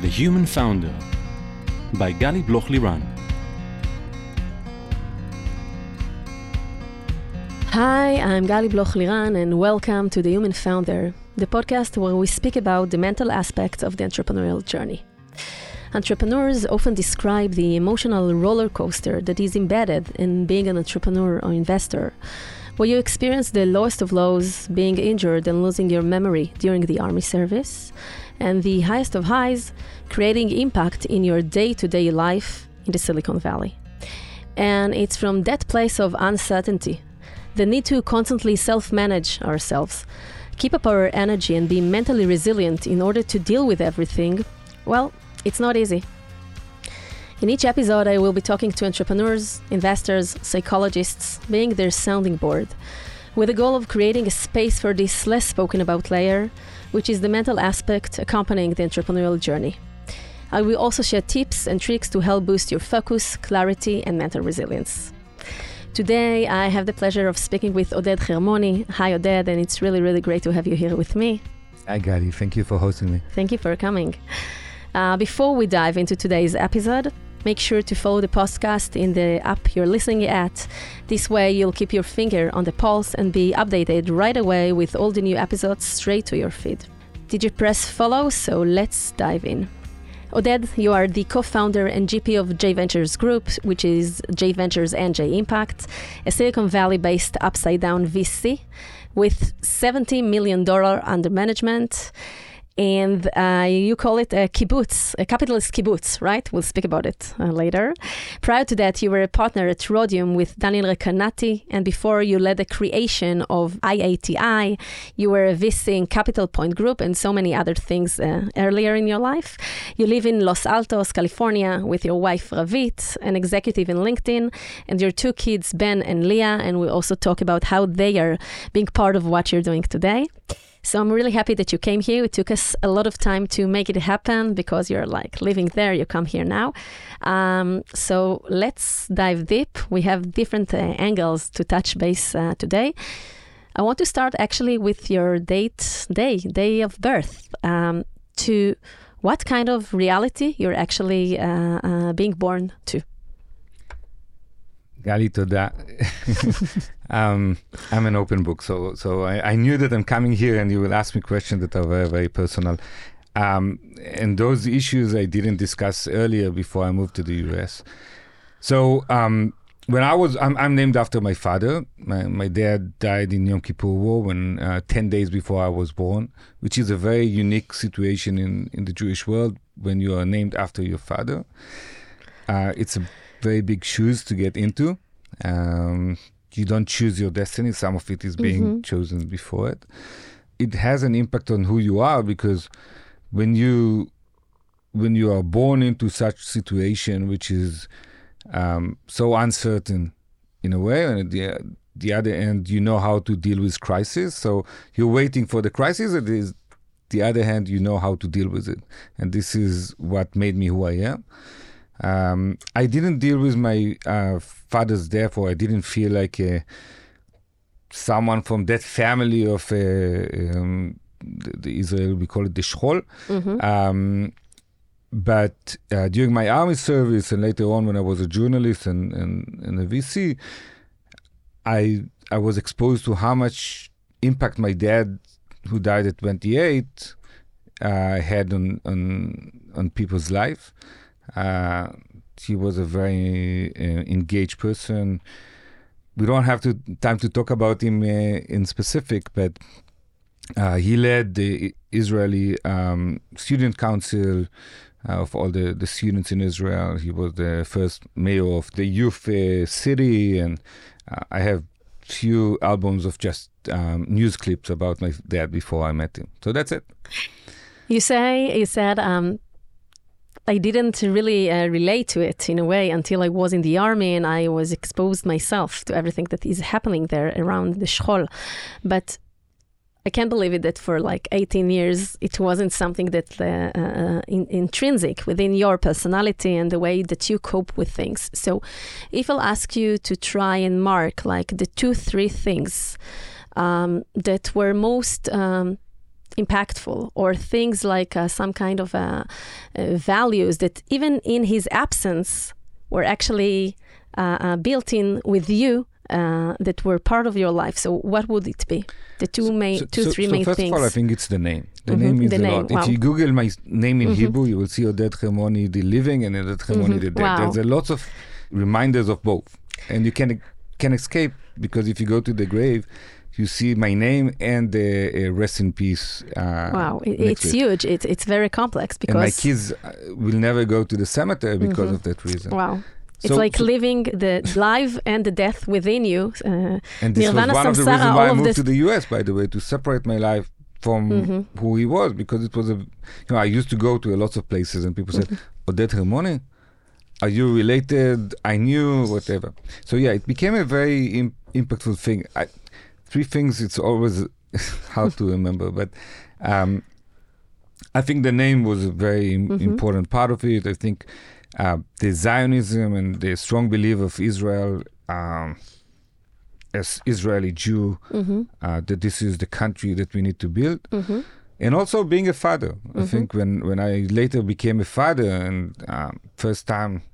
The Human Founder by Gali Bloch-Liran. Hi, I'm Gali Bloch-Liran and welcome to The Human Founder, the podcast where we speak about the mental aspects of the entrepreneurial journey. Entrepreneurs often describe the emotional roller coaster that is embedded in being an entrepreneur or investor, where you experience the lowest of lows, being injured and losing your memory during the army service, and the highest of highs, creating impact in your day-to-day life in the Silicon Valley. And it's from that place of uncertainty, the need to constantly self-manage ourselves, keep up our energy and be mentally resilient in order to deal with everything, well, it's not easy. In each episode, I will be talking to entrepreneurs, investors, psychologists, being their sounding board, with the goal of creating a space for this less spoken about layer, which is the mental aspect accompanying the entrepreneurial journey. I will also share tips and tricks to help boost your focus, clarity, and mental resilience. Today, I have the pleasure of speaking with Oded Hermoni. Hi, Oded, and it's really, really great to have you here with me. Hi, Gali. Thank you for hosting me. Thank you for coming. Before we dive into today's episode, make sure to follow the podcast in the app you're listening at. This way, you'll keep your finger on the pulse and be updated right away with all the new episodes straight to your feed. Did you press follow? So let's dive in. Oded, you are the co-founder and GP of J Ventures Group, which is J Ventures and J Impact, a Silicon Valley-based upside-down VC with $70 million under management. And you call it a kibbutz, a capitalist kibbutz, right? We'll speak about it later. Prior to that, you were a partner at Rhodium with Daniel Recanati, and before you led the creation of IATI, you were a VC in Capital Point Group and so many other things earlier in your life. You live in Los Altos, California, with your wife Ravit, an executive in LinkedIn, and your two kids, Ben and Leah, and we'll also talk about how they are being part of what you're doing today. So I'm really happy that you came here. It took us a lot of time to make it happen because you're like living there. You come here now. So let's dive deep. We have different angles to touch base today. I want to start actually with your day of birth. To what kind of reality you're actually being born to? Gali, toda. I'm an open book, so I knew that I'm coming here and you will ask me questions that are very, very personal. And those issues I didn't discuss earlier before I moved to the US. So when I'm named after my father. My dad died in Yom Kippur War when 10 days before I was born, which is a very unique situation in the Jewish world when you are named after your father. It's a very big shoes to get into. You don't choose your destiny. Some of it is being chosen before it. It has an impact on who you are because when you are born into such situation, which is so uncertain in a way, and at the other end, you know how to deal with crisis. So you're waiting for the crisis. It is the other hand, you know how to deal with it. And this is what made me who I am. I didn't deal with my father's death, or I didn't feel like someone from that family of the Israel, we call it the Shchol. But during my army service and later on when I was a journalist and a VC, I was exposed to how much impact my dad, who died at 28, had on people's life. He was a very engaged person. We don't have time to talk about him in specific, but he led the Israeli student council of all the students in Israel. He was the first mayor of the youth city, and I have few albums of just news clips about my dad before I met him. So that's it. You said I didn't really relate to it in a way until I was in the army and I was exposed myself to everything that is happening there around the Shchol. But I can't believe it that for like 18 years, it wasn't something that intrinsic within your personality and the way that you cope with things. So if I'll ask you to try and mark like the 2-3 things that were most impactful, or things like some kind of values that even in his absence were actually built in with you that were part of your life. So what would it be? The three main first things. First of all, I think it's the name. The name means a lot. Wow. If you Google my name in Hebrew, you will see Oded Hermoni, the living, and Oded Hermoni, the dead. Wow. There's a lots of reminders of both. And you can escape, because if you go to the grave, you see my name and the rest in peace. Wow, it's huge. It's very complex, because... And my kids will never go to the cemetery because of that reason. Wow. It's like living the life and the death within you. And this Nirvana, was one of the samsara, reasons why I all of moved this. to the US, by the way, to separate my life from who he was, because it was I used to go to lots of places and people said, Oded Hermoni? Are you related? I knew, whatever. So yeah, it became a very impactful thing. Three things, it's always hard to remember, but I think the name was a very important part of it. I think the Zionism and the strong belief of Israel as Israeli Jew, that this is the country that we need to build. And also being a father. I think when I later became a father, and first time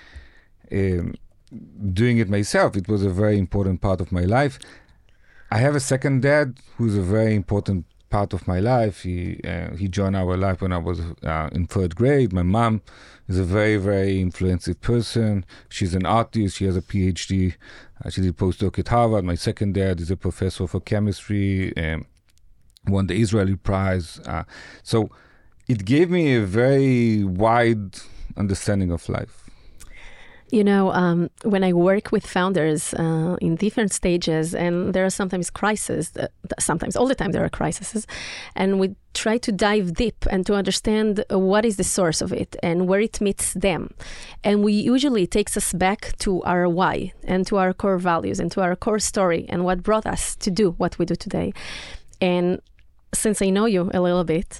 doing it myself, it was a very important part of my life. I have a second dad who's a very important part of my life. He joined our life when I was in third grade. My mom is a very, very influential person. She's an artist. She has a PhD. She did postdoc at Harvard. My second dad is a professor for chemistry and won the Israeli prize. So it gave me a very wide understanding of life. You know, when I work with founders in different stages, and there are sometimes crises, sometimes all the time there are crises, and we try to dive deep and to understand what is the source of it and where it meets them. And we usually it takes us back to our why and to our core values and to our core story and what brought us to do what we do today. And since I know you a little bit,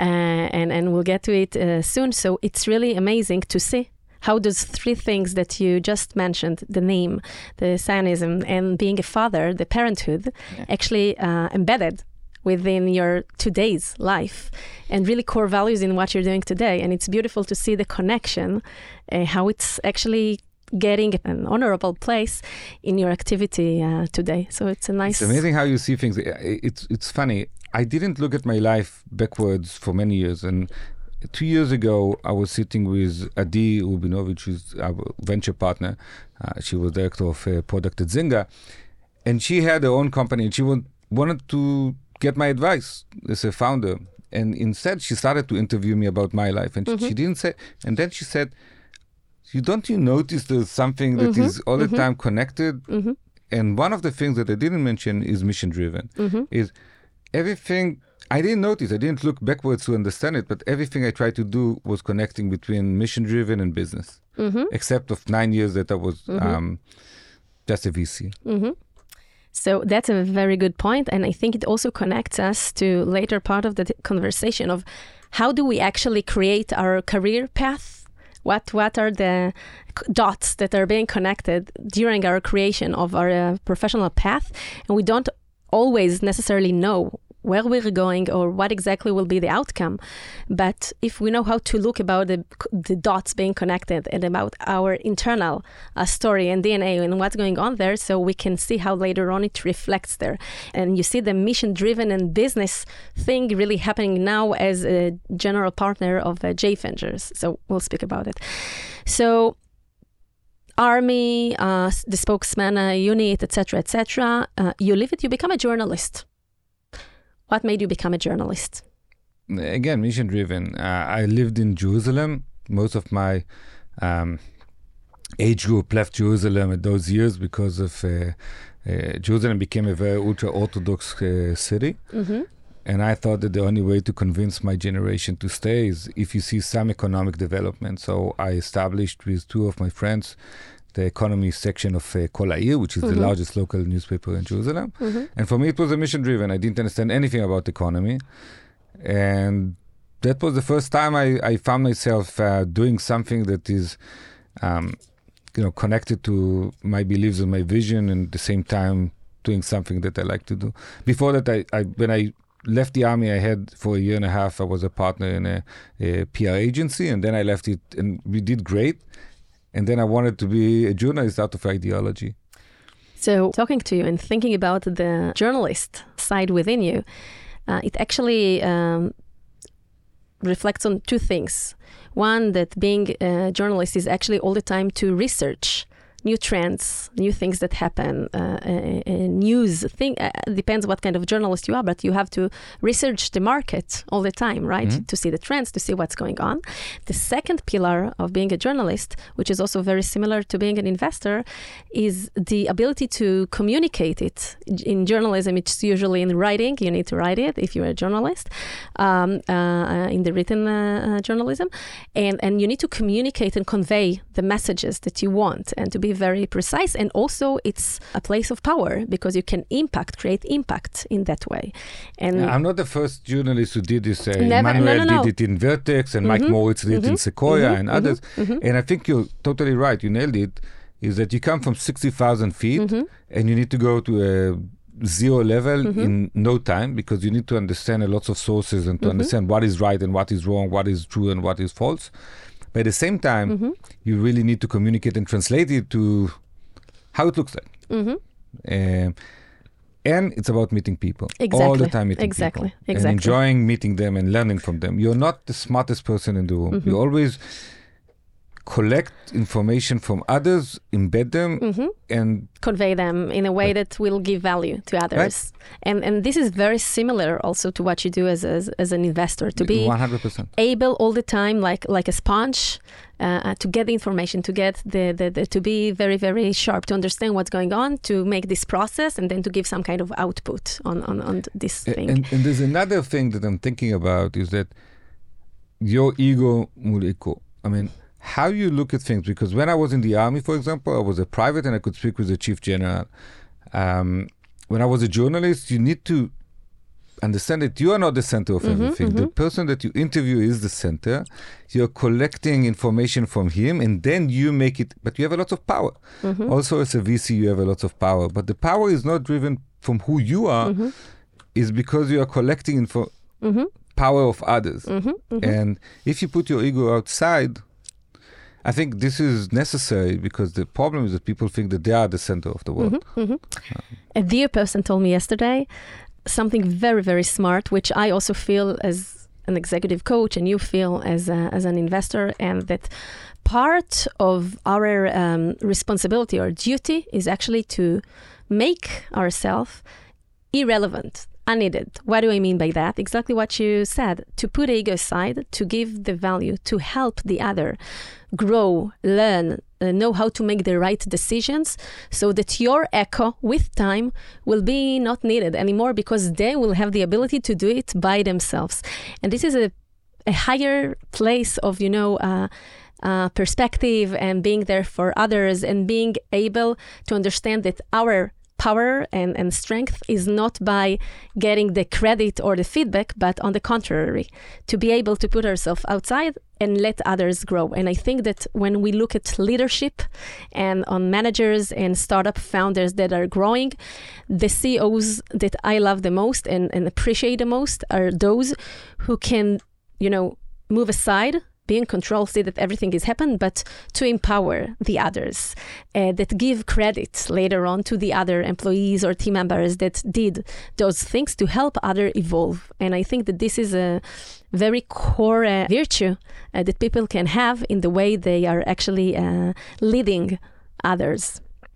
and we'll get to it soon, so it's really amazing to see how those three things that you just mentioned, the name, the Zionism, and being a father, the parenthood, actually embedded within your today's life and really core values in what you're doing today. And it's beautiful to see the connection, how it's actually getting an honorable place in your activity today. So it's a nice... It's amazing how you see things. It's funny. I didn't look at my life backwards for many years, and 2 years ago, I was sitting with Adi Rubinovich, who's our venture partner. She was director of product at Zynga. And she had her own company, and she wanted to get my advice as a founder. And instead, she started to interview me about my life. And she didn't say... And then she said, don't you notice there's something that is all the time connected? And one of the things that I didn't mention is mission-driven. Is everything... I didn't notice, I didn't look backwards to understand it, but everything I tried to do was connecting between mission-driven and business, except of 9 years that I was just a VC. So that's a very good point, and I think it also connects us to later part of the conversation of how do we actually create our career path? What are the dots that are being connected during our creation of our professional path? And we don't always necessarily know where we're going or what exactly will be the outcome. But if we know how to look about the dots being connected and about our internal story and DNA and what's going on there, so we can see how later on it reflects there. And you see the mission-driven and business thing really happening now as a general partner of J Ventures. So we'll speak about it. So Army, the spokesman unit, etc., you leave it, you become a journalist. What made you become a journalist? Again, mission-driven. I lived in Jerusalem. Most of my age group left Jerusalem at those years because of Jerusalem became a very ultra-Orthodox city. And I thought that the only way to convince my generation to stay is if you see some economic development. So I established with two of my friends the economy section of Kol Ha'ir, which is the largest local newspaper in Jerusalem. And for me, it was a mission-driven. I didn't understand anything about economy. And that was the first time I found myself doing something that is, connected to my beliefs and my vision, and at the same time doing something that I like to do. Before that, when I left the army, I had for a year and a half, I was a partner in a PR agency, and then I left it and we did great. And then I wanted to be a journalist out of ideology. So talking to you and thinking about the journalist side within you, it actually reflects on two things. One, that being a journalist is actually all the time to research new trends, new things that happen, news thing. Depends what kind of journalist you are, but you have to research the market all the time, right? Mm-hmm. To see the trends, to see what's going on. The second pillar of being a journalist, which is also very similar to being an investor, is the ability to communicate it. In journalism, it's usually in writing. You need to write it if you're a journalist, in the written journalism. And you need to communicate and convey the messages that you want and to be very precise. And also it's a place of power because you can create impact in that way. And I'm not the first journalist who did this. Emmanuel did it in Vertex and Mike Moritz did it in Sequoia and others. And I think you're totally right. You nailed it. Is that you come from 60,000 feet and you need to go to a zero level in no time because you need to understand a lot of sources and to understand what is right and what is wrong, what is true and what is false. But at the same time, you really need to communicate and translate it to how it looks like. And it's about meeting people. Exactly. All the time meeting people. And enjoying meeting them and learning from them. You're not the smartest person in the room. You always collect information from others, embed them, and convey them in a way that will give value to others. Right. And this is very similar also to what you do as an investor, to be 100% able all the time, like a sponge, to get the information, to get the to be very, very sharp, to understand what's going on, to make this process, and then to give some kind of output on this thing. And there's another thing that I'm thinking about is that your ego mul ego. I mean, how you look at things, because when I was in the army, for example, I was a private and I could speak with the chief general. When I was a journalist, you need to understand that you are not the center of everything. The person that you interview is the center. You're collecting information from him and then you make it, but you have a lot of power. Also as a VC, you have a lot of power, but the power is not driven from who you are, is because you are collecting power of others. And if you put your ego outside, I think this is necessary because the problem is that people think that they are the center of the world. A dear person told me yesterday something very, very smart, which I also feel as an executive coach and you feel as an investor, and that part of our responsibility or duty is actually to make ourselves irrelevant, unneeded. What do I mean by that? Exactly what you said. To put ego aside, to give the value, to help the other grow, learn, know how to make the right decisions so that your echo with time will be not needed anymore because they will have the ability to do it by themselves. And this is a higher place of, perspective and being there for others and being able to understand that our power and strength is not by getting the credit or the feedback, but on the contrary, to be able to put ourselves outside and let others grow. And I think that when we look at leadership and on managers and startup founders that are growing, the CEOs that I love the most and appreciate the most are those who can, move aside, be in control, see that everything is happening, but to empower the others, that give credit later on to the other employees or team members that did those things to help others evolve. And I think that this is a very core virtue that people can have in the way they are actually leading others.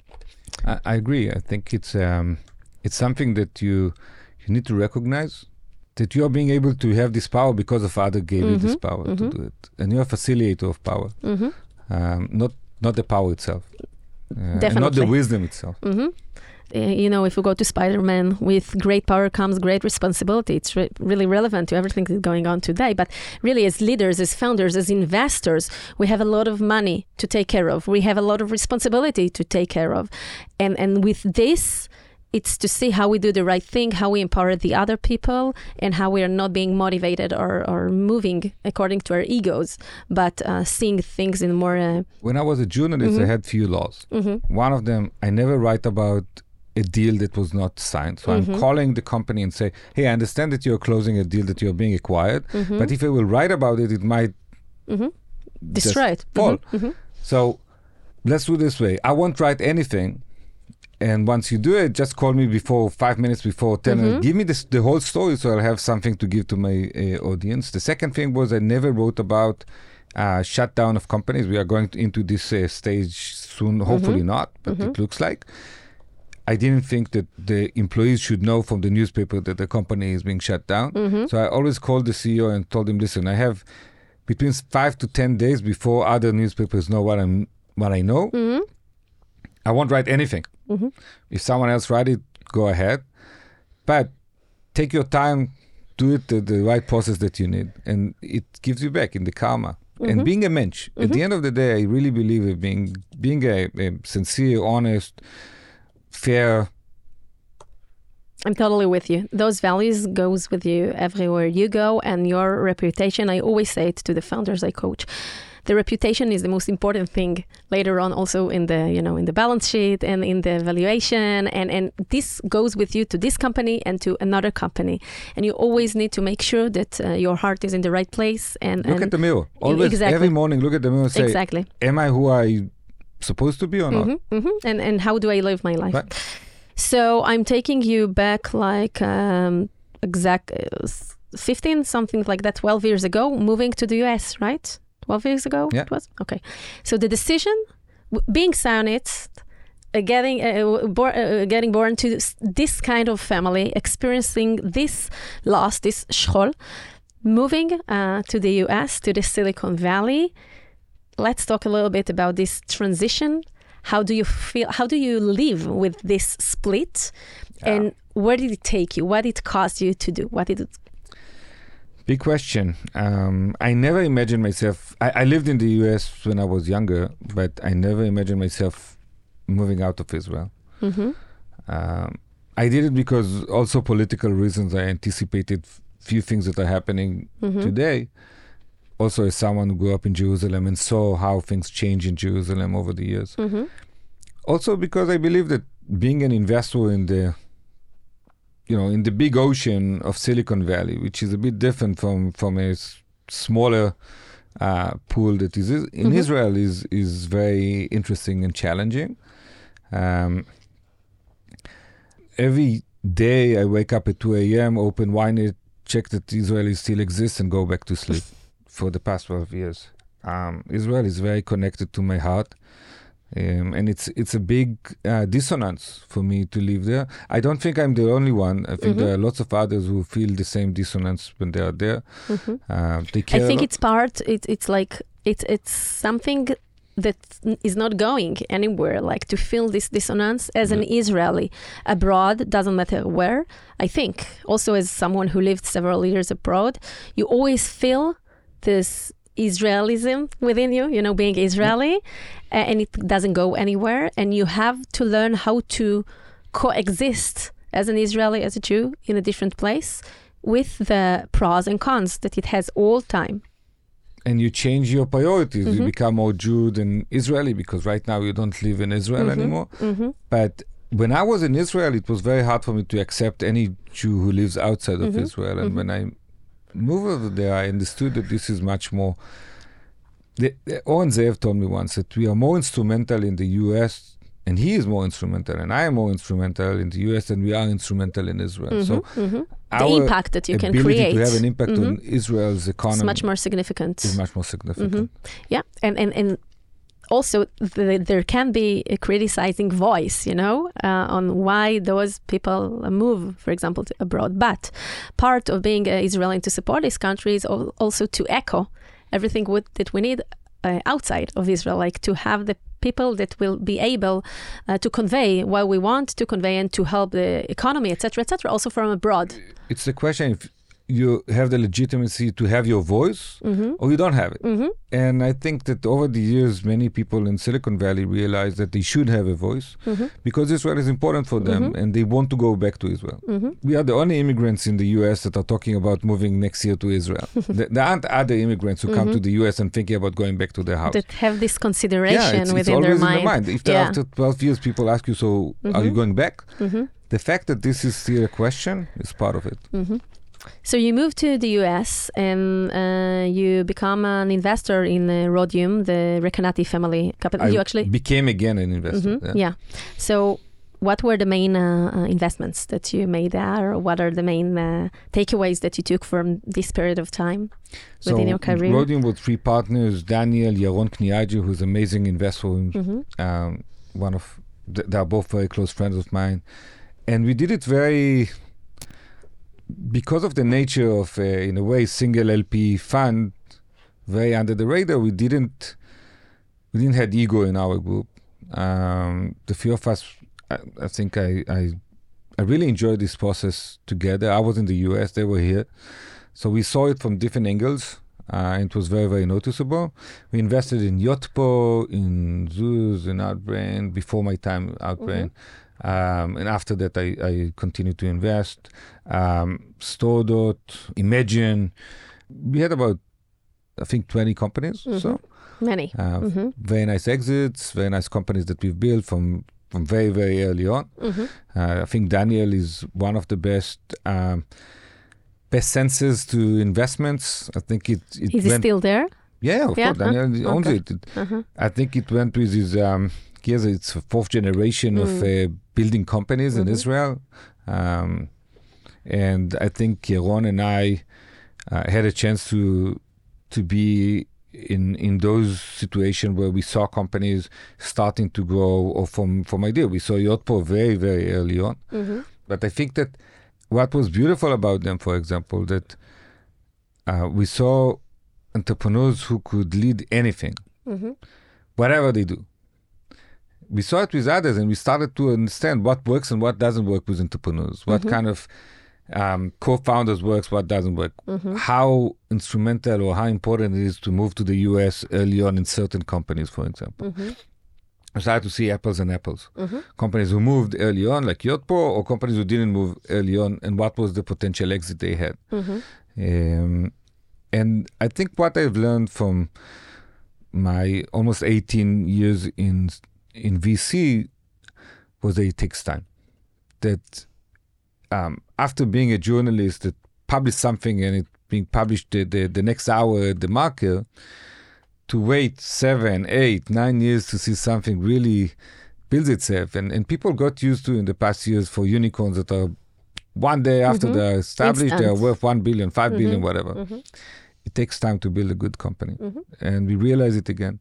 I agree. I think it's something that you need to recognize, that you are being able to have this power because of others gave you this power to do it. And you're a facilitator of power, not the power itself. Definitely. Not the wisdom itself. If we go to Spider-Man, with great power comes great responsibility. It's really relevant to everything that's going on today. But really, as leaders, as founders, as investors, we have a lot of money to take care of. We have a lot of responsibility to take care of. And with this, it's to see how we do the right thing, how we empower the other people, and how we are not being motivated or moving according to our egos, but seeing things in more... When I was a journalist, I had few laws. One of them, I never write about a deal that was not signed. So I'm calling the company and say, hey, I understand that you're closing a deal, that you're being acquired, but if I will write about it, it might destroy it. Fall. So let's do it this way. I won't write anything. And once you do it, just call me before 5 minutes before 10 and give me the whole story so I'll have something to give to my audience. The second thing was I never wrote about shutdown of companies. We are going into this stage soon, hopefully not, but it looks like. I didn't think that the employees should know from the newspaper that the company is being shut down. So I always called the CEO and told him, listen, I have between 5 to 10 days before other newspapers know what I know. I won't write anything. If someone else write it, go ahead. But take your time, do it the right process that you need. And it gives you back in the karma. And being a mensch. At the end of the day, I really believe in being a sincere, honest, fair. I'm totally with you. Those values goes with you everywhere you go, and your reputation. I always say it to the founders I coach. The reputation is the most important thing later on, also in the in the balance sheet and in the valuation, and this goes with you to this company and to another company, and you always need to make sure that your heart is in the right place. And look at the mirror always. Every morning, look at the mirror. And say, am I who I supposed to be or not? And how do I live my life? Right. So I'm taking you back like 15, something like that, 12 years ago, moving to the US, right? 12 years ago it was? Okay. So the decision, being Zionist, getting born to this kind of family, experiencing this loss, this shchol, moving to the US, to the Silicon Valley. Let's talk a little bit about this transition. How do you feel? How do you live with this split? And where did it take you? What did it cost you to do? What did it... Big question. I never imagined myself... I lived in the US when I was younger, but I never imagined myself moving out of Israel. I did it because also political reasons. I anticipated few things that are happening today. Also, as someone who grew up in Jerusalem and saw how things change in Jerusalem over the years. Also because I believe that being an investor in the in the big ocean of Silicon Valley, which is a bit different from a smaller pool that is in Israel, is very interesting and challenging. Every day I wake up at 2 a.m., open Ynet, check that Israel still exists, and go back to sleep. For the past 12 years, Israel is very connected to my heart, and it's a big dissonance for me to live there. I don't think I'm the only one. I think there are lots of others who feel the same dissonance when they are there. They care. I think it's part. It's like it's something that is not going anywhere. Like to feel this dissonance as an Israeli abroad, doesn't matter where. I think also as someone who lived several years abroad, you always feel this Israelism within you, being Israeli, and it doesn't go anywhere. And you have to learn how to coexist as an Israeli, as a Jew in a different place with the pros and cons that it has all time. And you change your priorities. You become more Jew than Israeli because right now you don't live in Israel anymore. But when I was in Israel, it was very hard for me to accept any Jew who lives outside of Israel. And when I moved over there, I understood that this is much more... Oren Zeev told me once that we are more instrumental in the US, and he is more instrumental, and I am more instrumental in the US than we are instrumental in Israel. So the impact that you can create... to have an impact on Israel's economy... is much more significant. Is much more significant. Yeah, and also there can be a criticizing voice, on why those people move, for example, abroad. But part of being Israeli to support this country is also to echo everything that we need outside of Israel, like to have the people that will be able to convey what we want to convey and to help the economy, etc., also from abroad. It's the question you have the legitimacy to have your voice or you don't have it. And I think that over the years, many people in Silicon Valley realized that they should have a voice because Israel is important for them and they want to go back to Israel. We are the only immigrants in the US that are talking about moving next year to Israel. There aren't other immigrants who come to the US and thinking about going back to their house. That have this consideration it's within always their in the mind. If after 12 years people ask you, so are you going back? The fact that this is still a question is part of it. So you moved to the US and you become an investor in Rhodium, the Recanati family capital. You actually became again an investor. Yeah. So what were the main investments that you made there? What are the main takeaways that you took from this period of time within your career? Rhodium with three partners, Daniel, Yaron Kniaji, who's an amazing investor. They are both very close friends of mine. And we did it because of the nature of, in a way, single LP fund, very under the radar. We didn't have ego in our group. The few of us, I think I really enjoyed this process together. I was in the US, they were here. So we saw it from different angles. It was very, very noticeable. We invested in Yotpo, in Zuz, in Outbrain, before my time Outbrain. And after that, I continued to invest. Stordot, Imagine. We had about, I think, 20 companies. So many. Very nice exits, very nice companies that we've built from very, very early on. I think Daniel is one of the best senses to investments. I think it Is he still there? Yeah, of course. Daniel owns it. I think it went with his... it's a fourth generation of building companies in Israel. And I think Yaron and I had a chance to be in those situations where we saw companies starting to grow, or from idea. We saw Yotpo very, very early on. But I think that what was beautiful about them, for example, that we saw entrepreneurs who could lead anything, whatever they do. We saw it with others, and we started to understand what works and what doesn't work with entrepreneurs. What kind of co-founders works, what doesn't work. How instrumental or how important it is to move to the US early on in certain companies, for example. I started to see apples and apples. Companies who moved early on, like Yotpo, or companies who didn't move early on, and what was the potential exit they had. And I think what I've learned from my almost 18 years in VC was that it takes time. That after being a journalist that published something and it being published the next hour at the market, to wait 7, 8, 9 years to see something really builds itself. And people got used to in the past years for unicorns that are one day after they're established, they are worth 1 billion, 5 billion, whatever. It takes time to build a good company. And we realize it again.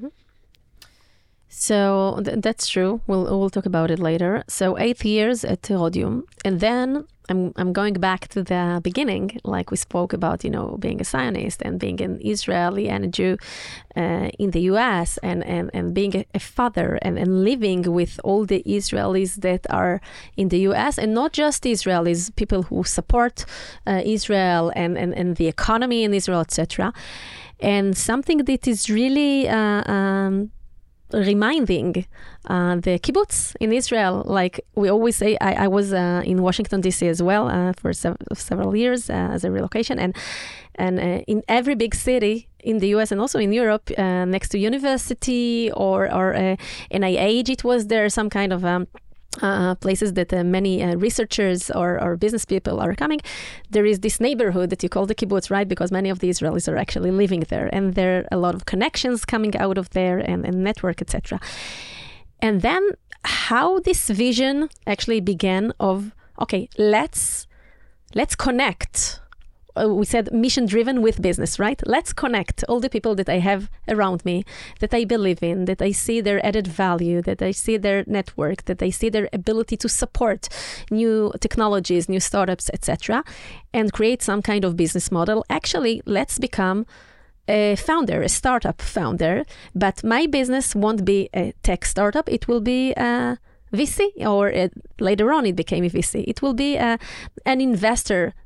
So that's true. We'll talk about it later. So 8 years at Rhodium, and then I'm going back to the beginning, like we spoke about, being a Zionist and being an Israeli and a Jew in the U.S. and being a father and living with all the Israelis that are in the U.S. and not just Israelis, people who support Israel and the economy in Israel, etc. And something that is really reminding the kibbutz in Israel. Like we always say, I was in Washington, D.C. as well for several years as a relocation. And in every big city in the U.S. and also in Europe, next to university or NIH, it was there some kind of places that many researchers or business people are coming. There is this neighborhood that you call the kibbutz, right? Because many of the Israelis are actually living there, and there are a lot of connections coming out of there and network, etc. And then how this vision actually began of, okay, let's connect. We said mission-driven with business, right? Let's connect all the people that I have around me, that I believe in, that I see their added value, that I see their network, that I see their ability to support new technologies, new startups, etc., and create some kind of business model. Actually, let's become a founder, a startup founder, but my business won't be a tech startup. It will be VC, or later on it became a VC. It will be an investor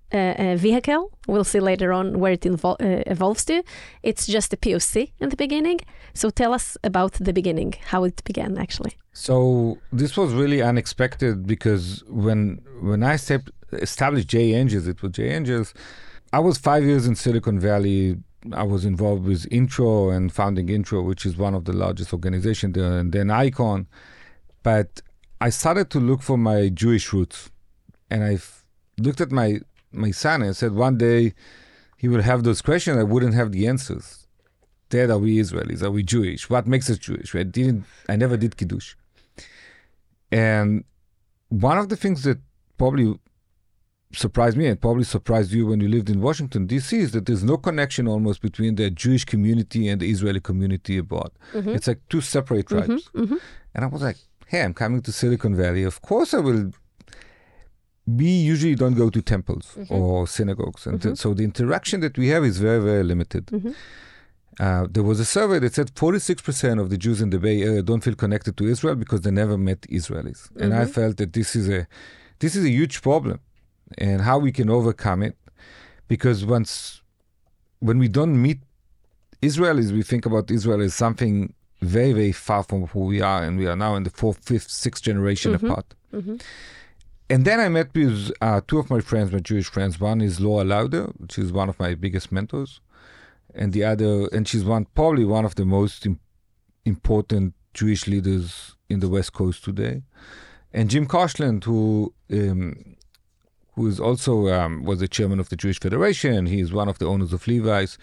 vehicle. We'll see later on where it evolves to. It's just a POC in the beginning. So tell us about the beginning, how it began actually. So this was really unexpected because when I established J Angels, it was J Angels. I was 5 years in Silicon Valley. I was involved with Intro and founding Intro, which is one of the largest organizations there, and then Icon. But I started to look for my Jewish roots. And I looked at my son and said, one day he will have those questions. I wouldn't have the answers. Dad, are we Israelis? Are we Jewish? What makes us Jewish? I never did Kiddush. And one of the things that probably surprised me and probably surprised you when you lived in Washington, D.C. is that there's no connection almost between the Jewish community and the Israeli community abroad. Mm-hmm. It's like two separate tribes. Mm-hmm. And I was like, hey, I'm coming to Silicon Valley. Of course I will. We usually don't go to temples or synagogues. And so the interaction that we have is very, very limited. There was a survey that said 46% of the Jews in the Bay Area don't feel connected to Israel because they never met Israelis. And I felt that this is a huge problem. And how we can overcome it, because when we don't meet Israelis, we think about Israel as something very, very far from who we are, and we are now in the 4th, 5th, 6th generation apart. And then I met with two of my friends, my Jewish friends. One is Laura Lauder, which is one of my biggest mentors, and the other, and she's probably one of the most important Jewish leaders in the West Coast today, and Jim Koshland, who is also was the chairman of the Jewish Federation. He is one of the owners of Levi's,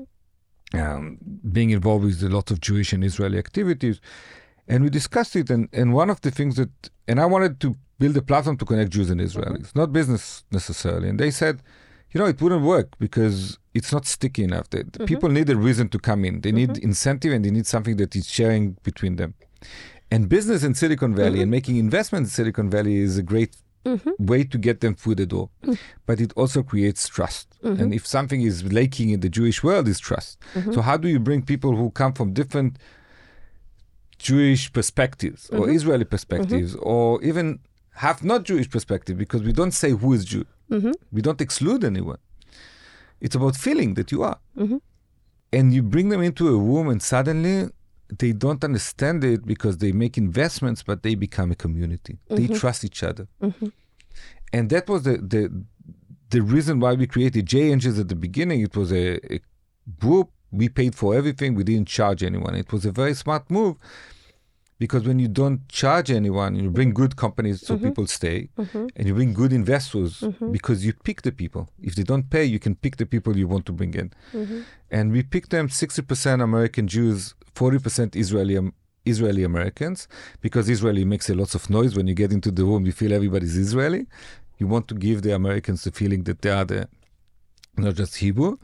being involved with a lot of Jewish and Israeli activities. And we discussed it. And one of the things and I wanted to build a platform to connect Jews and Israelis, not business necessarily. And they said, it wouldn't work because it's not sticky enough. The people need a reason to come in. They need incentive and they need something that is sharing between them. And business in Silicon Valley and making investments in Silicon Valley is a great way to get them through the door. But it also creates trust. And if something is lacking in the Jewish world, is trust. So how do you bring people who come from different Jewish perspectives or Israeli perspectives or even have not Jewish perspective, because we don't say who is Jew. We don't exclude anyone. It's about feeling that you are. And you bring them into a room and suddenly they don't understand it because they make investments, but they become a community. They trust each other. And that was the reason why we created J Angels at the beginning. It was a group. We paid for everything. We didn't charge anyone. It was a very smart move because when you don't charge anyone, you bring good companies so people stay, and you bring good investors because you pick the people. If they don't pay, you can pick the people you want to bring in. And we picked them 60% American Jews, 40% Israeli Americans, because Israeli makes a lot of noise. When you get into the room, you feel everybody's Israeli. You want to give the Americans the feeling that they are not just Hebrew.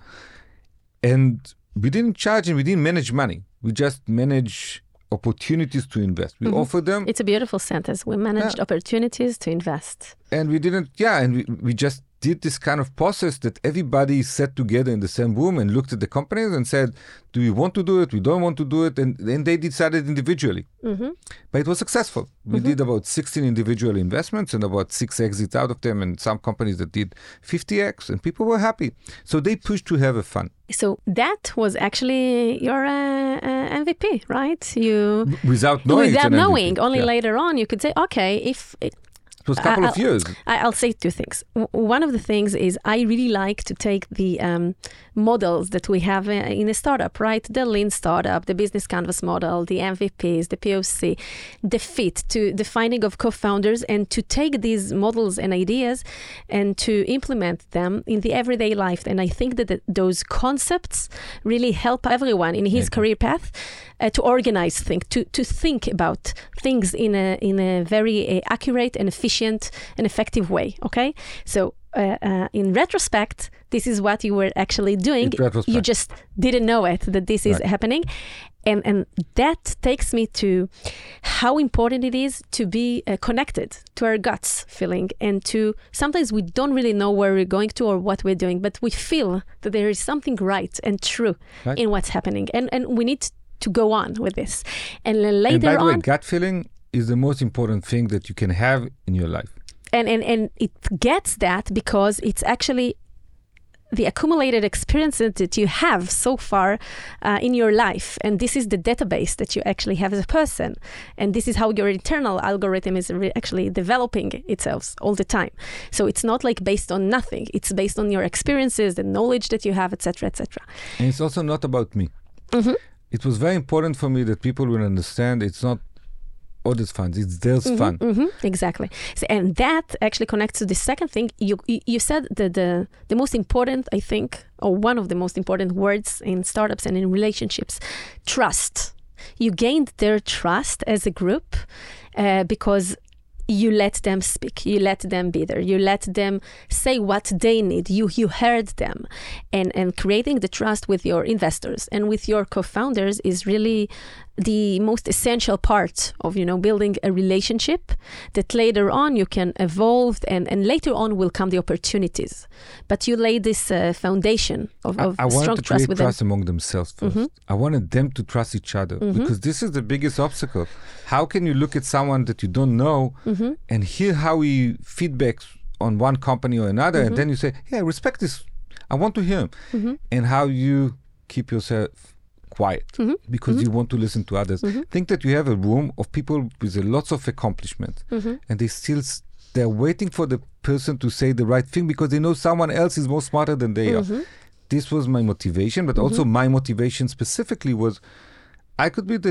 And we didn't charge and we didn't manage money. We just manage opportunities to invest. We offer them. It's a beautiful sentence. We managed opportunities to invest. And we didn't, and we just did this kind of process that everybody sat together in the same room and looked at the companies and said, do we want to do it? We don't want to do it. And then they decided individually. But it was successful. We did about 16 individual investments and about 6 exits out of them, and some companies that did 50x, and people were happy. So they pushed to have a fun. So that was actually your MVP, right? Without knowing. Without knowing. Only later on you could say, okay, if... It was a couple of years. I'll say two things. One of the things is I really like to take the models that we have in a startup, right? The lean startup, the business canvas model, the MVPs, the POC, the fit, to the finding of co-founders, and to take these models and ideas and to implement them in the everyday life. And I think that those concepts really help everyone in his career path to organize things, to think about things in a very accurate and efficient and effective way. Okay, so in retrospect, this is what you were actually doing. You just didn't know it, that this is happening. And that takes me to how important it is to be connected to our guts feeling, and to sometimes we don't really know where we're going to or what we're doing, but we feel that there is something right and true in what's happening, and we need to go on with this. And then later on, by the way, gut feeling is the most important thing that you can have in your life. And it gets that because it's actually the accumulated experiences that you have so far in your life. And this is the database that you actually have as a person. And this is how your internal algorithm is actually developing itself all the time. So it's not like based on nothing. It's based on your experiences, the knowledge that you have, etc., etc. And it's also not about me. Mm-hmm. It was very important for me that people will understand it's not others' funds, it's theirs fund. Exactly. So, and that actually connects to the second thing. You said that the most important, I think, or one of the most important words in startups and in relationships, trust. You gained their trust as a group because you let them speak, you let them be there, you let them say what they need, you heard them. And creating the trust with your investors and with your co-founders is really the most essential part of, building a relationship that later on you can evolve and later on will come the opportunities. But you lay this foundation of strong trust with them. I wanted to create trust among themselves first. I wanted them to trust each other because this is the biggest obstacle. How can you look at someone that you don't know and hear how he feedbacks on one company or another and then you say, hey, I respect this. I want to hear him. And how you keep yourself quiet because you want to listen to others. Think that you have a room of people with lots of accomplishments and they're waiting for the person to say the right thing because they know someone else is more smarter than they are. This was my motivation, but also my motivation specifically was I could be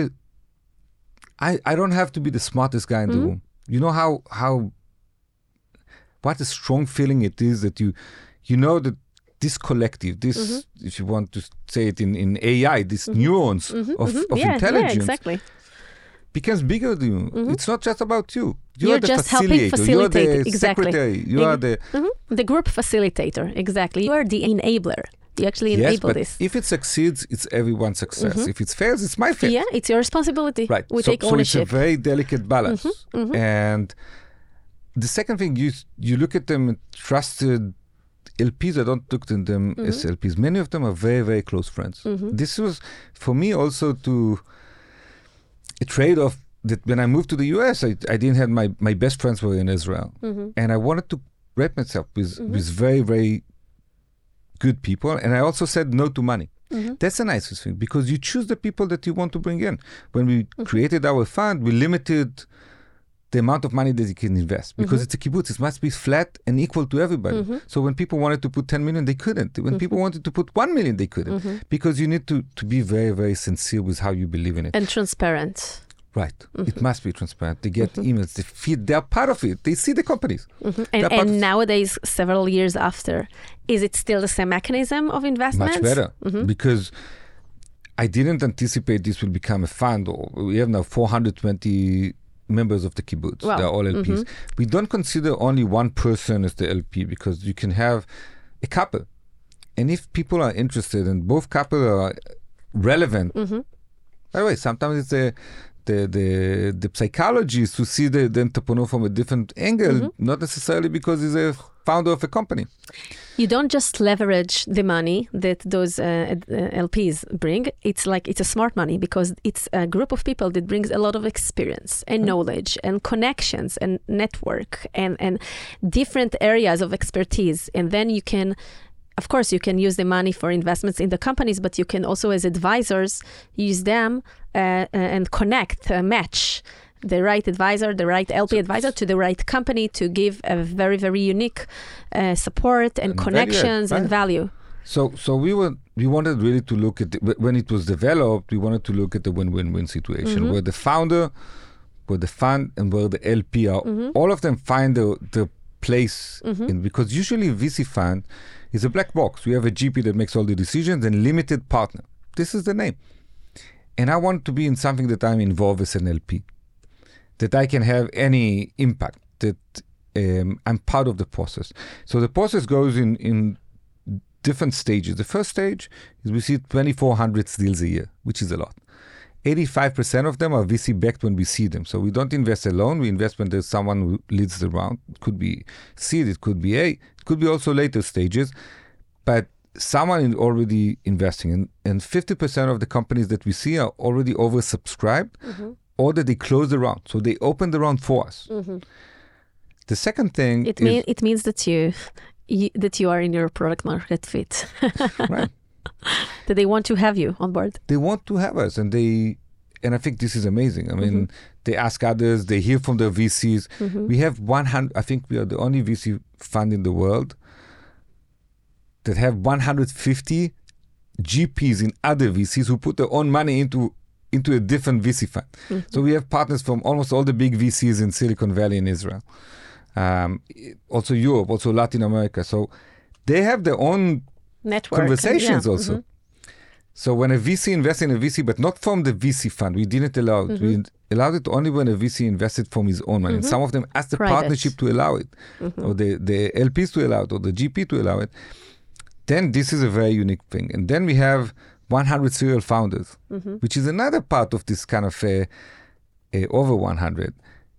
I don't have to be the smartest guy in the room. You know how what a strong feeling it is that you know that this collective, this, if you want to say it in AI, these neurons of intelligence becomes bigger than you. It's not just about you. You're the just helping facilitate. You're the secretary. You are the group facilitator. Exactly. You are the enabler. You actually enable this. If it succeeds, it's everyone's success. If it fails, it's my fail. Yeah, it's your responsibility. Right. We take ownership. So it's a very delicate balance. And the second thing, you look at them trusted LPs. I don't look at them as LPs. Many of them are very, very close friends. This was, for me, also a trade-off that when I moved to the US, I didn't have my best friends were in Israel. And I wanted to wrap myself with very, very good people. And I also said no to money. That's the nicest thing because you choose the people that you want to bring in. When we created our fund, we limited the amount of money that you can invest because it's a kibbutz. It must be flat and equal to everybody. So when people wanted to put 10 million, they couldn't. When people wanted to put 1 million, they couldn't because you need to be very, very sincere with how you believe in it. And transparent. Right. It must be transparent. They get emails, they feed, they're part of it. They see the companies. And nowadays, several years after, is it still the same mechanism of investment? Much better because I didn't anticipate this will become a fund. We have now 420 members of the kibbutz. Wow. They're all LPs. We don't consider only one person as the LP because you can have a couple. And if people are interested and both couples are relevant, by the way, sometimes it's the psychologist who see the entrepreneur from a different angle, not necessarily because he's a founder of a company. You don't just leverage the money that those LPs bring. It's a smart money because it's a group of people that brings a lot of experience and knowledge and connections and network and different areas of expertise. And then you can, of course, you can use the money for investments in the companies, but you can also, as advisors, use them and match the right advisor, the right LP advisor to the right company to give a very, very unique support and connections and value. So we wanted really to look at when it was developed. We wanted to look at the win-win-win situation where the founder, where the fund, and where the LP are. All of them find the place in, because usually VC fund is a black box. We have a GP that makes all the decisions and limited partner. This is the name. And I want to be in something that I'm involved as an LP, that I can have any impact, that I'm part of the process. So the process goes in different stages. The first stage is we see 2,400 deals a year, which is a lot. 85% of them are VC backed when we see them. So we don't invest alone. We invest when there's someone who leads the round. It could be seed, it could be A, it could be also later stages. But someone is already investing. And 50% of the companies that we see are already oversubscribed or that they close the round. So they open the round for us. The second thing it means that you are in your product market fit. right. That they want to have you on board. They want to have us, and I think this is amazing. I mean, they ask others, they hear from their VCs. We have 100. I think we are the only VC fund in the world that have 150 GPs in other VCs who put their own money into a different VC fund. So we have partners from almost all the big VCs in Silicon Valley and Israel. Also Europe, also Latin America. So they have their own network conversations also. So when a VC invests in a VC, but not from the VC fund, we didn't allow it. We allowed it only when a VC invested from his own money. And some of them asked the partnership to allow it, or the LPs to allow it, or the GP to allow it. Then this is a very unique thing. And then we have 100 serial founders, which is another part of this kind of over 100.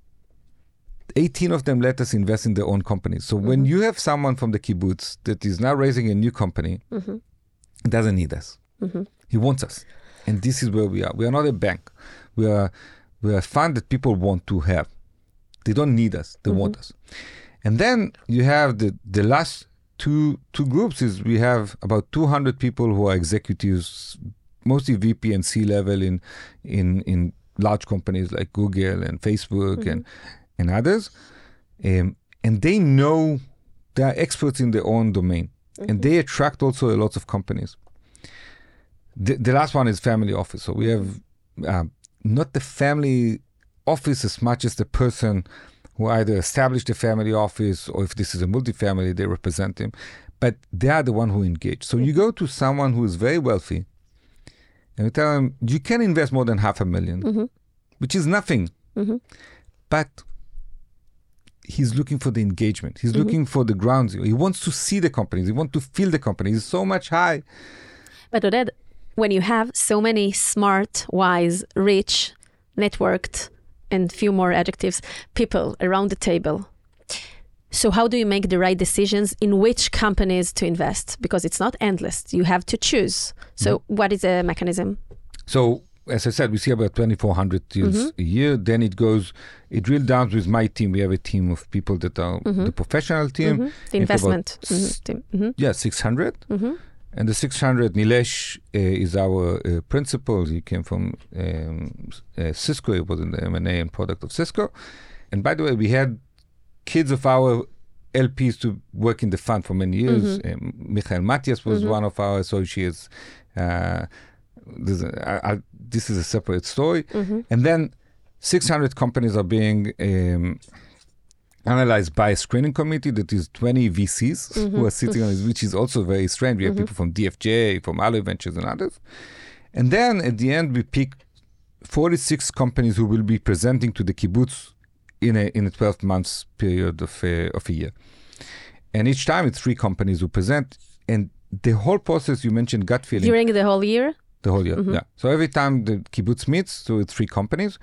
18 of them let us invest in their own companies. So when you have someone from the kibbutz that is now raising a new company, doesn't need us. He wants us. And this is where we are. We are not a bank. We are a fund that people want to have. They don't need us. They want us. And then you have the last two groups is we have about 200 people who are executives, mostly VP and C-level in large companies like Google and Facebook and others. And they know they are experts in their own domain. And they attract also a lot of companies. The last one is family office. So we have not the family office as much as the person who either established a family office, or if this is a multifamily, they represent him. But they are the one who engage. So you go to someone who is very wealthy and you tell them, you can invest more than $500,000, which is nothing. But he's looking for the engagement. He's looking for the ground zero. He wants to see the companies. He wants to feel the companies. It's so much high. But Oded, when you have so many smart, wise, rich, networked, and few more adjectives, people around the table, so how do you make the right decisions in which companies to invest? Because it's not endless. You have to choose. So what is the mechanism? So, as I said, we see about 2,400 deals a year. Then it drills down with my team. We have a team of people that are the professional team. The investment team. Yeah, 600. And the 600, Nilesh is our principal. He came from Cisco. He was in the M&A and product of Cisco. And by the way, we had kids of our LPs to work in the fund for many years. Michael Matias was one of our associates. This is a separate story. And then 600 companies are being analyzed by a screening committee that is 20 VCs who are sitting on it, which is also very strange. We have people from DFJ, from Aloe Ventures and others. And then at the end, we pick 46 companies who will be presenting to the kibbutz in a 12 months period of a year. And each time it's 3 companies who present. And the whole process, you mentioned gut feeling. During the whole year? The whole year, yeah. So every time the kibbutz meets, so it's 3 companies.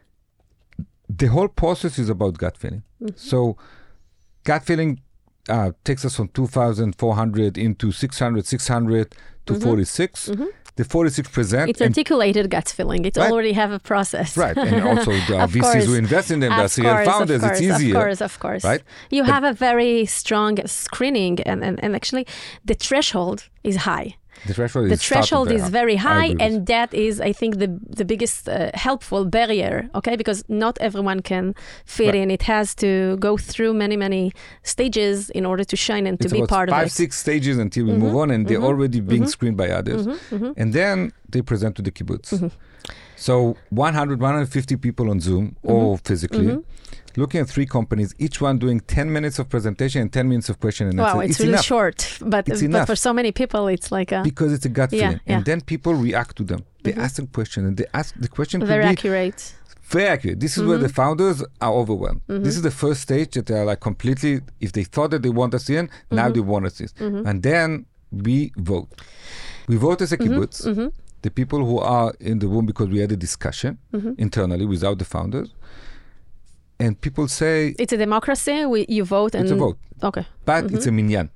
The whole process is about gut feeling. So gut feeling takes us from 2,400 into 600 to 46. The 46 present. It's articulated gut feeling. It already have a process. Right. And also there are VCs who invest in them. There are serial founders. It's easier. Of course. Right? You have a very strong screening and actually the threshold is high. The threshold is very high, and that is, I think, the biggest helpful barrier, okay? Because not everyone can fit in. It has to go through many stages in order to shine and to be part of it. 5-6 stages until we move on, and they're already being screened by others. And then they present to the kibbutz. So 150 people on Zoom or physically, looking at 3 companies, each one doing 10 minutes of presentation and 10 minutes of question and answer. Wow, it's really short. But for so many people, it's like a... Because it's a gut feeling. And then people react to them. They ask them questions, and they ask the question very accurate. Very accurate. This is where the founders are overwhelmed. This is the first stage that they are like completely, if they thought that they want us in, now they want us in. And then we vote. We vote as a kibbutz. The people who are in the room, because we had a discussion internally without the founders. And people say... It's a democracy? You vote and... It's a vote. Okay. But it's a minyan.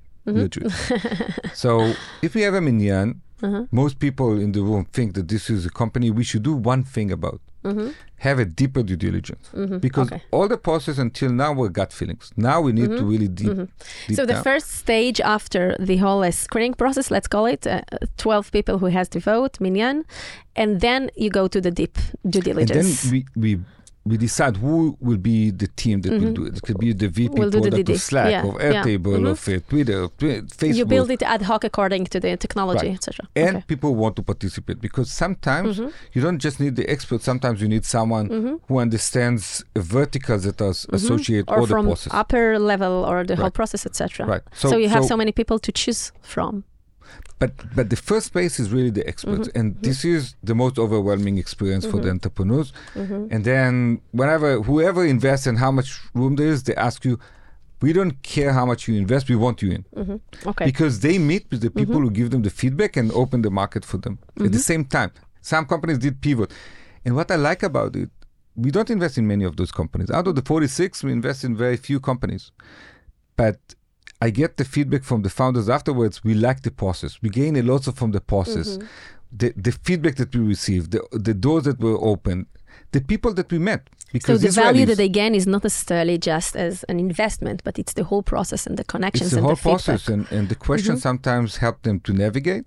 So if we have a minyan, most people in the room think that this is a company we should do one thing about. have a deeper due diligence. Because all the process until now were gut feelings. Now we need to really deep So the down. first stage after the whole screening process, let's call it, 12 people who has to vote, minyan, and then you go to the deep due diligence. And then we decide who will be the team that will do it. It could be the VP Will do the product DD. of Slack, of Airtable, of Twitter, of Facebook. You build it ad hoc according to the technology, Right. etc. And people want to participate because sometimes you don't just need the expert. Sometimes you need someone who understands verticals that are associated Or all the from process. upper level or the whole Right. process, etc. Right. So you have so many people to choose from. But the first space is really the experts, and this is the most overwhelming experience for the entrepreneurs. And then whoever invests and how much room there is, they ask you, we don't care how much you invest, we want you in. Okay. Because they meet with the people who give them the feedback and open the market for them at the same time. Some companies did pivot. And what I like about it, we don't invest in many of those companies. Out of the 46, we invest in very few companies. But I get the feedback from the founders afterwards. We like the process. We gain a lot from the process. The feedback that we received, the doors that were opened, the people that we met. So Because the value Israelis- that they gain is not necessarily just as an investment, but it's the whole process and the connections it's the and whole the feedback. process, and the questions sometimes help them to navigate.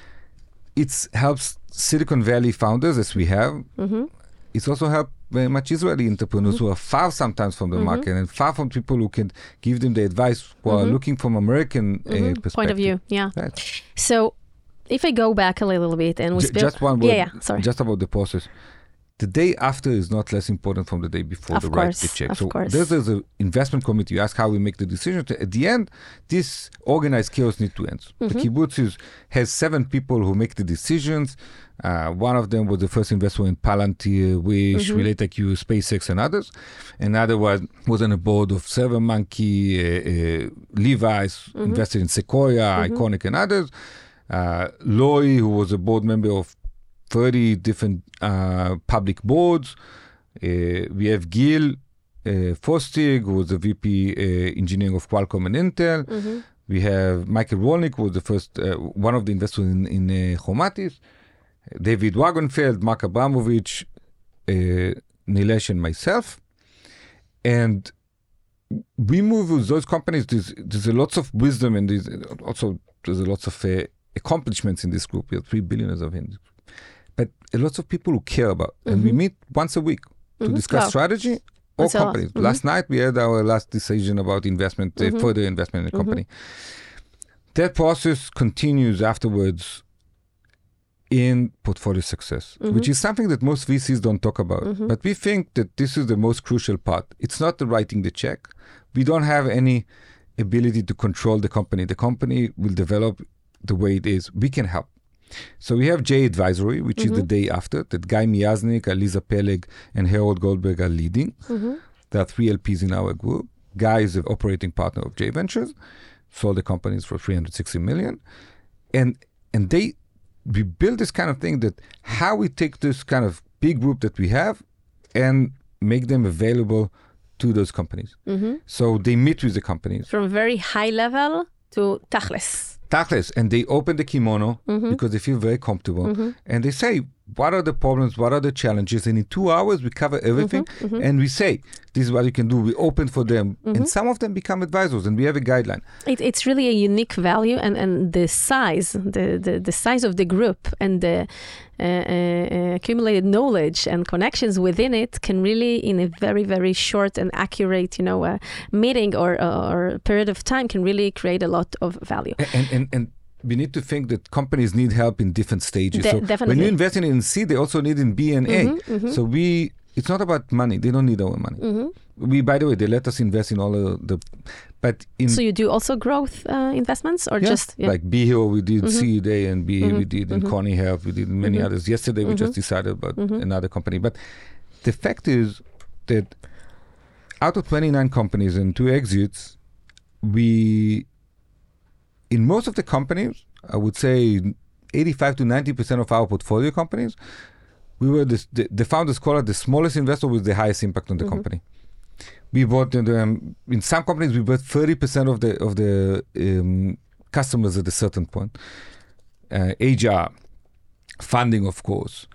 It helps Silicon Valley founders, as we have. It's also helped very much Israeli entrepreneurs who are far sometimes from the market and far from people who can give them the advice who are looking from American perspective. Point of view, yeah. Right. So if I go back a little bit and we Just one word, sorry. just about the process. The day after is not less important from the day before Of the course, right check. of So course. there's an investment committee. You ask how we make the decision. At the end, this organized chaos needs to end. The kibbutz has 7 people who make the decisions. One of them was the first investor in Palantir, Wish, RelateIQ, SpaceX, and others. Another was on the board of ServerMonkey, Levi's, invested in Sequoia, Iconic, and others. Loi, who was a board member of 30 different public boards. We have Gil Fostig, who was the VP engineering of Qualcomm and Intel. We have Michael Wolnick, who was the first, one of the investors in Chomatis. David Wagenfeld, Mark Abramovich, Nilesh, and myself. And we move with those companies. There's a lots of wisdom, and there's a lots of accomplishments in this group. We have 3 billionaires of him. But a lot of people who care about. And we meet once a week to discuss strategy or That's a lot. companies. Last night, we had our last decision about investment, further investment in the company. That process continues afterwards in portfolio success, which is something that most VCs don't talk about. But we think that this is the most crucial part. It's not the writing the check. We don't have any ability to control the company. The company will develop the way it is. We can help. So we have J Advisory, which is the day after, that Guy Miaznik, Aliza Peleg, and Harold Goldberg are leading. There are 3 LPs in our group. Guy is the operating partner of J Ventures, sold the companies for $360 million. And we build this kind of thing that how we take this kind of big group that we have and make them available to those companies. So they meet with the companies. From very high level to tachlis. Tachlis, and they open the kimono because they feel very comfortable. And they say, what are the problems? What are the challenges? And in 2 hours, we cover everything. And we say, this is what you can do. We open for them. And some of them become advisors, and we have a guideline. It's really a unique value, and the size, the size of the group and the accumulated knowledge and connections within it can really, in a very, very short and accurate, meeting or period of time, can really create a lot of value. And we need to think that companies need help in different stages. So Definitely. when you invest in C, they also need in B and A. So it's not about money. They don't need our money. We, by the way, they let us invest in all but in... So you do also growth investments or just... Yeah. Like Be Hero, we did Seed A and B, we did in Connie Health, we did many others. Yesterday, we just decided about another company. But the fact is that out of 29 companies and 2 exits, in most of the companies, I would say 85 to 90% of our portfolio companies, we were the founders call it the smallest investor with the highest impact on the company. We bought in some companies, we bought 30% of the customers at a certain point. HR, funding, of course,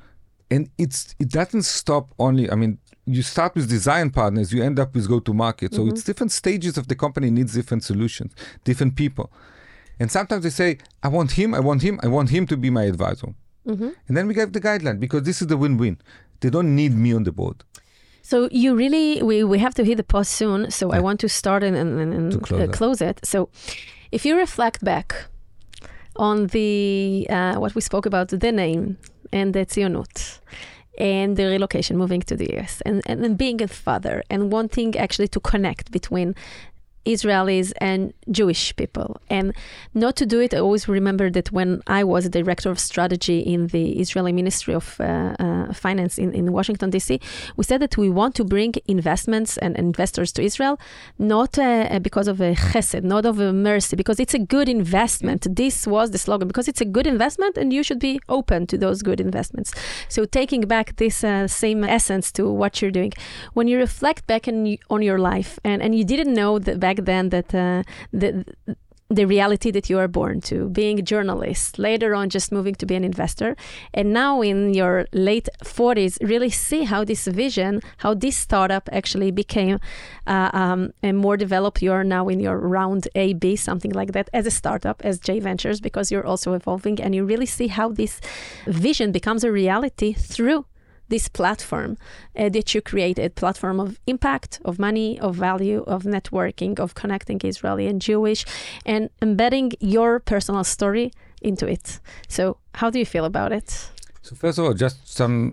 And it doesn't stop only, I mean, you start with design partners, you end up with go-to-market. So it's different stages of the company needs different solutions, different people. And sometimes they say, I want him to be my advisor. And then we give the guideline because this is the win-win. They don't need me on the board. So you really, we have to hit the pause soon. So I want to start and close it. So if you reflect back on the what we spoke about, the name and the Tzionut and the relocation, moving to the US and being a father and wanting actually to connect between Israelis and Jewish people. And not to do it, I always remember that when I was a director of strategy in the Israeli Ministry of Finance in Washington, D.C., we said that we want to bring investments and investors to Israel, not because of a chesed, not of a mercy, because it's a good investment. This was the slogan, because it's a good investment and you should be open to those good investments. So taking back this same essence to what you're doing, when you reflect back on your life and you didn't know that back then that the reality that you are born to, being a journalist, later on just moving to be an investor, and now in your late 40s, really see how this vision, how this startup actually became a more developed. You're now in your round A, B, something like that, as a startup, as J Ventures, because you're also evolving, and you really see how this vision becomes a reality through this platform that you created, platform of impact, of money, of value, of networking, of connecting Israeli and Jewish, and embedding your personal story into it. So how do you feel about it? So first of all, just some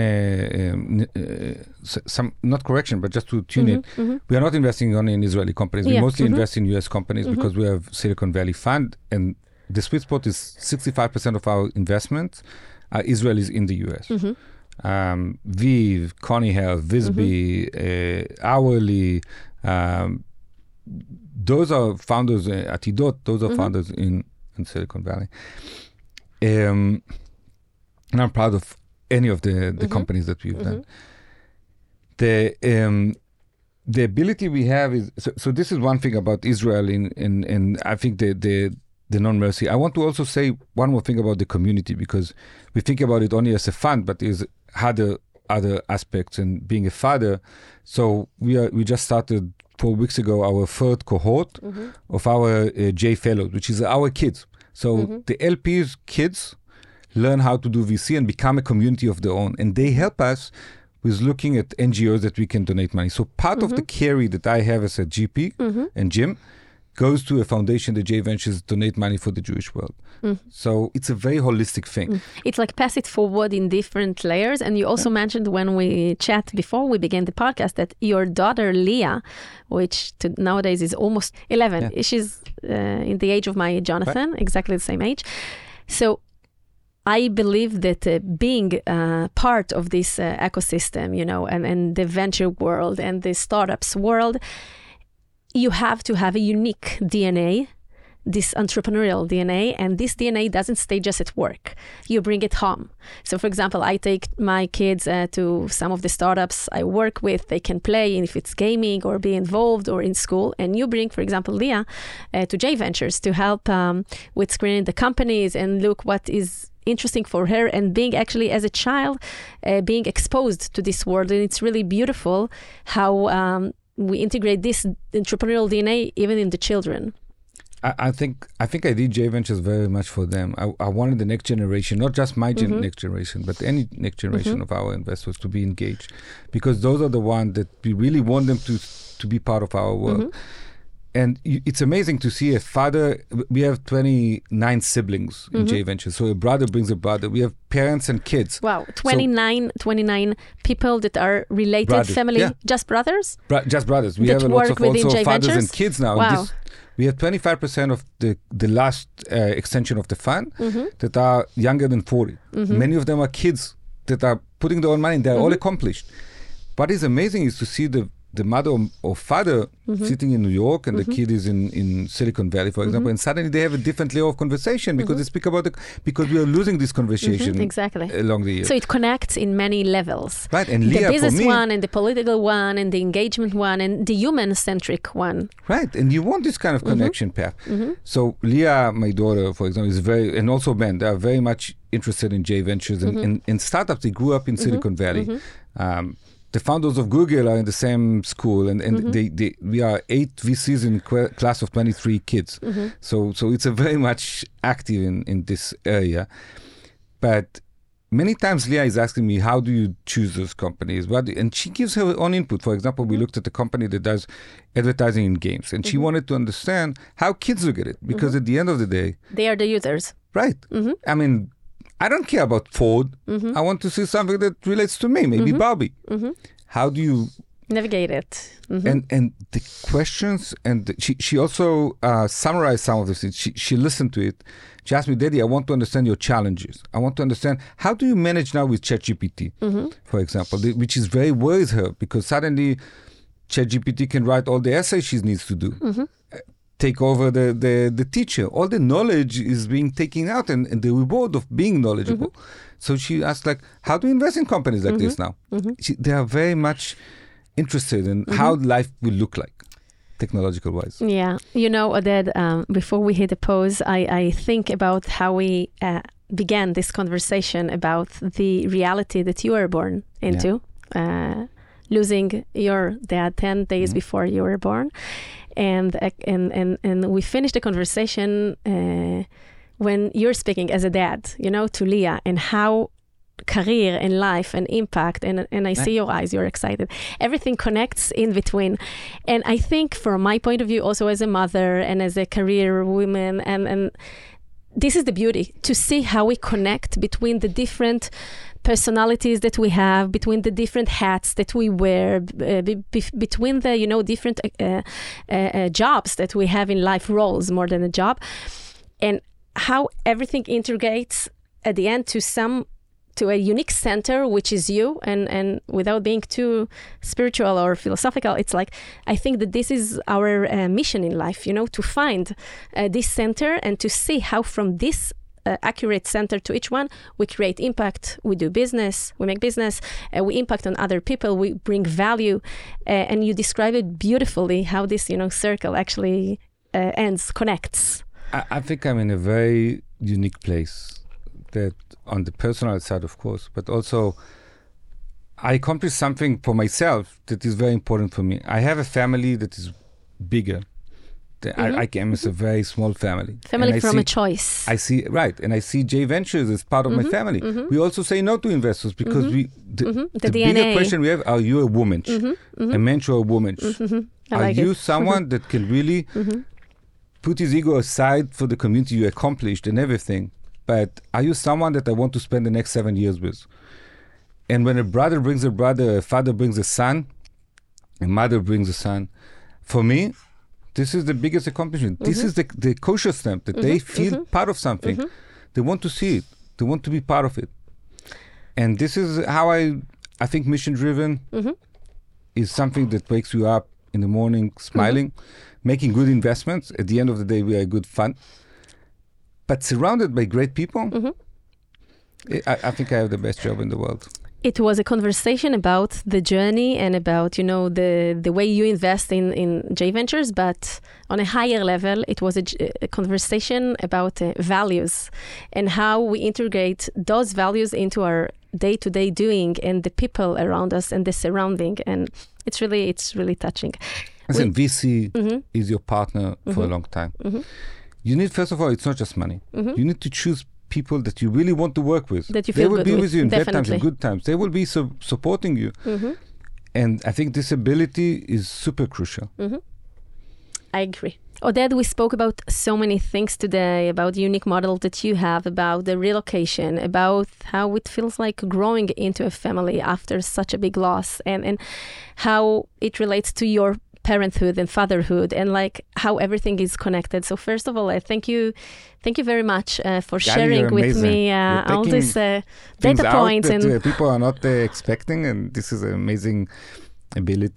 not correction, but just to tune it. We are not investing only in Israeli companies. We mostly invest in US companies because we have Silicon Valley Fund, and the sweet spot is 65% of our investments are Israelis in the US. Viv, Connie Health, Visby, Hourly, those are founders, Atidot, those are founders in Silicon Valley. And I'm proud of any of the companies that we've done. The ability we have is, so this is one thing about Israel and I think the non-mercy. I want to also say one more thing about the community, because we think about it only as a fund, but is other aspects and being a father. So we just started 4 weeks ago our third cohort of our J Fellows, which is our kids. So the LP's kids learn how to do VC and become a community of their own. And they help us with looking at NGOs that we can donate money. So part of the carry that I have as a GP and Jim goes to a foundation that J Ventures donate money for the Jewish world. So it's a very holistic thing. It's like pass it forward in different layers. And you also mentioned when we chat before we began the podcast that your daughter Leah, which nowadays is almost 11, she's in the age of my Jonathan, exactly the same age. So I believe that being part of this ecosystem, and the venture world and the startups world, you have to have a unique DNA, this entrepreneurial DNA, and this DNA doesn't stay just at work. You bring it home. So, for example, I take my kids to some of the startups I work with. They can play, if it's gaming or be involved or in school. And you bring, for example, Leah to J Ventures to help with screening the companies and look what is interesting for her, and being actually as a child being exposed to this world. And it's really beautiful how we integrate this entrepreneurial DNA even in the children. I think I did J Ventures very much for them. I wanted the next generation, not just my next generation, but any next generation of our investors to be engaged, because those are the ones that we really want them to be part of our world. And it's amazing to see a father. We have 29 siblings in J Ventures. So a brother brings a brother. We have parents and kids. Wow, 29 people that are related, brothers. Family, just brothers? Just brothers. We have a lot of also fathers and kids now. Wow. We have 25% of the last extension of the fund that are younger than 40. Many of them are kids that are putting their own money, and they're all accomplished. What is amazing is to see the the mother or father sitting in New York and the kid is in Silicon Valley, for example, and suddenly they have a different layer of conversation because they speak about because we are losing this conversation exactly along the years. So it connects in many levels. Right, and the Leah, business for me, one and the political one and the engagement one and the human-centric one. Right, and you want this kind of connection path. So Leah, my daughter, for example, is very, and also Ben, they are very much interested in J Ventures and in startups. They grew up in Silicon Valley. The founders of Google are in the same school, and we are 8 VCs in class of 23 kids. So it's a very much active in this area. But many times Leah is asking me, how do you choose those companies? And she gives her own input. For example, we looked at a company that does advertising in games, and she wanted to understand how kids look at it, because at the end of the day, they are the users. Right. I mean, I don't care about Ford. I want to see something that relates to me, maybe Barbie. How do you navigate it? And the questions, and she also summarized some of this. She listened to it. She asked me, Daddy, I want to understand your challenges. I want to understand, how do you manage now with ChatGPT, for example, which is very worries her, because suddenly ChatGPT can write all the essays she needs to do. Take over the teacher. All the knowledge is being taken out, and the reward of being knowledgeable. So she asked, like, how do you invest in companies like this now? They are very much interested in how life will look like, technological wise. Yeah. You know, Oded, before we hit a pause, I think about how we began this conversation about the reality that you were born into, losing your dad 10 days before you were born. And we finished the conversation when you're speaking as a dad, you know, to Leah, and how career and life and impact, and I see your eyes, you're excited. Everything connects in between. And I think from my point of view, also as a mother and as a career woman, and this is the beauty, to see how we connect between the different personalities that we have, between the different hats that we wear, between the, you know, different jobs that we have in life, roles more than a job, and how everything integrates at the end to a unique center, which is you. And without being too spiritual or philosophical, it's like, I think that this is our mission in life, you know, to find this center and to see how from this accurate center to each one, we create impact, we do business, we make business, we impact on other people, we bring value. And you describe it beautifully, how this, you know, circle actually connects. I think I'm in a very unique place, that on the personal side, of course, but also I accomplished something for myself that is very important for me. I have a family that is bigger. I came as a very small family. Family from a choice. I see, right, and I see J Ventures as part of my family. We also say no to investors because the bigger question we have, are you a woman? A mensch or a woman? Are you someone that can really put his ego aside for the community you accomplished and everything? But are you someone that I want to spend the next 7 years with? And when a brother brings a brother, a father brings a son, a mother brings a son, for me, this is the biggest accomplishment. This is the kosher stamp, that they feel part of something. They want to see it. They want to be part of it. And this is how I think mission-driven is something that wakes you up in the morning smiling, making good investments. At the end of the day, we are good fun. But surrounded by great people, I think I have the best job in the world. It was a conversation about the journey and about, you know, the way you invest in J Ventures, but on a higher level, it was a conversation about values and how we integrate those values into our day-to-day doing and the people around us and the surrounding. And it's really touching. Listen, VC is your partner for a long time. You need, first of all, it's not just money. You need to choose people that you really want to work with. That you feel good with. They will be with you in Definitely. bad times and good times. They will be supporting you. And I think this ability is super crucial. I agree. Oded, we spoke about so many things today, about the unique model that you have, about the relocation, about how it feels like growing into a family after such a big loss, and how it relates to your parenthood and fatherhood, and like how everything is connected. So first of all, I thank you very much for sharing with me all these data points that people are not expecting, and this is an amazing ability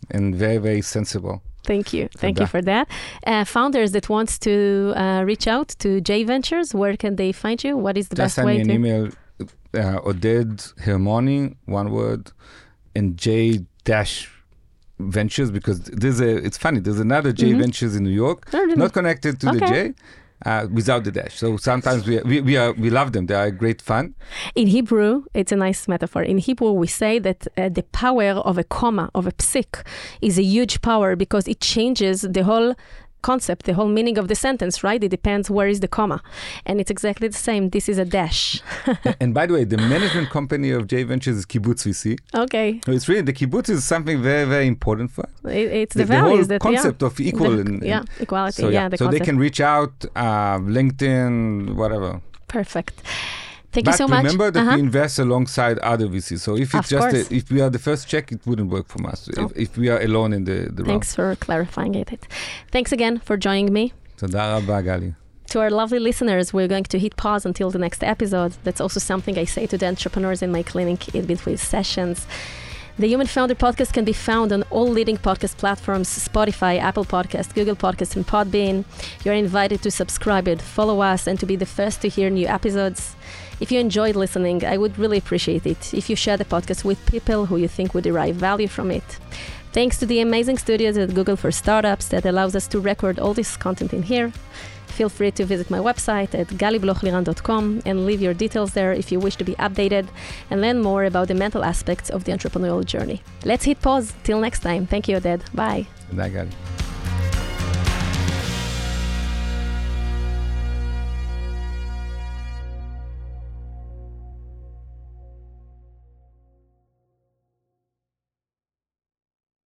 and very, very sensible. Thank you. Thank you for that. Founders that wants to reach out to J Ventures, where can they find you? What is the best way to... Just send me an email, Oded Hermoni, one word, and J-Ventures, because it's funny, there's another J Ventures in New York, not connected to the J, without the dash. So sometimes we love them. They are great fun. In Hebrew, it's a nice metaphor. In Hebrew, we say that the power of a comma, of a psik, is a huge power because it changes the whole concept, the whole meaning of the sentence, right? It depends where is the comma. And it's exactly the same. This is a dash. And by the way, the management company of J Ventures is Kibbutz VC. Okay. So it's really, the kibbutz is something very, very important for us. It's the values the whole concept of equal. Equality. So they can reach out, LinkedIn, whatever. Perfect. Thank you so much. But remember that we invest alongside other VCs. So if it's if we are the first check, it wouldn't work for us. If we are alone in the round. Thanks for clarifying it. Thanks again for joining me. Toda rabba, Gali. To our lovely listeners, we're going to hit pause until the next episode. That's also something I say to the entrepreneurs in my clinic in between sessions. The Human Founder Podcast can be found on all leading podcast platforms, Spotify, Apple Podcasts, Google Podcasts, and Podbean. You're invited to subscribe it, follow us, and to be the first to hear new episodes. If you enjoyed listening, I would really appreciate it if you share the podcast with people who you think would derive value from it. Thanks to the amazing studios at Google for Startups that allows us to record all this content in here. Feel free to visit my website at galiblochliran.com and leave your details there if you wish to be updated and learn more about the mental aspects of the entrepreneurial journey. Let's hit pause. Till next time. Thank you, Oded. Bye. Bye, Gali.